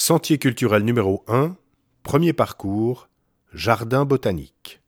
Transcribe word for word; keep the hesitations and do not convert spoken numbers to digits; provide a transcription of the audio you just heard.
Sentier culturel numéro un, premier parcours, jardin botanique.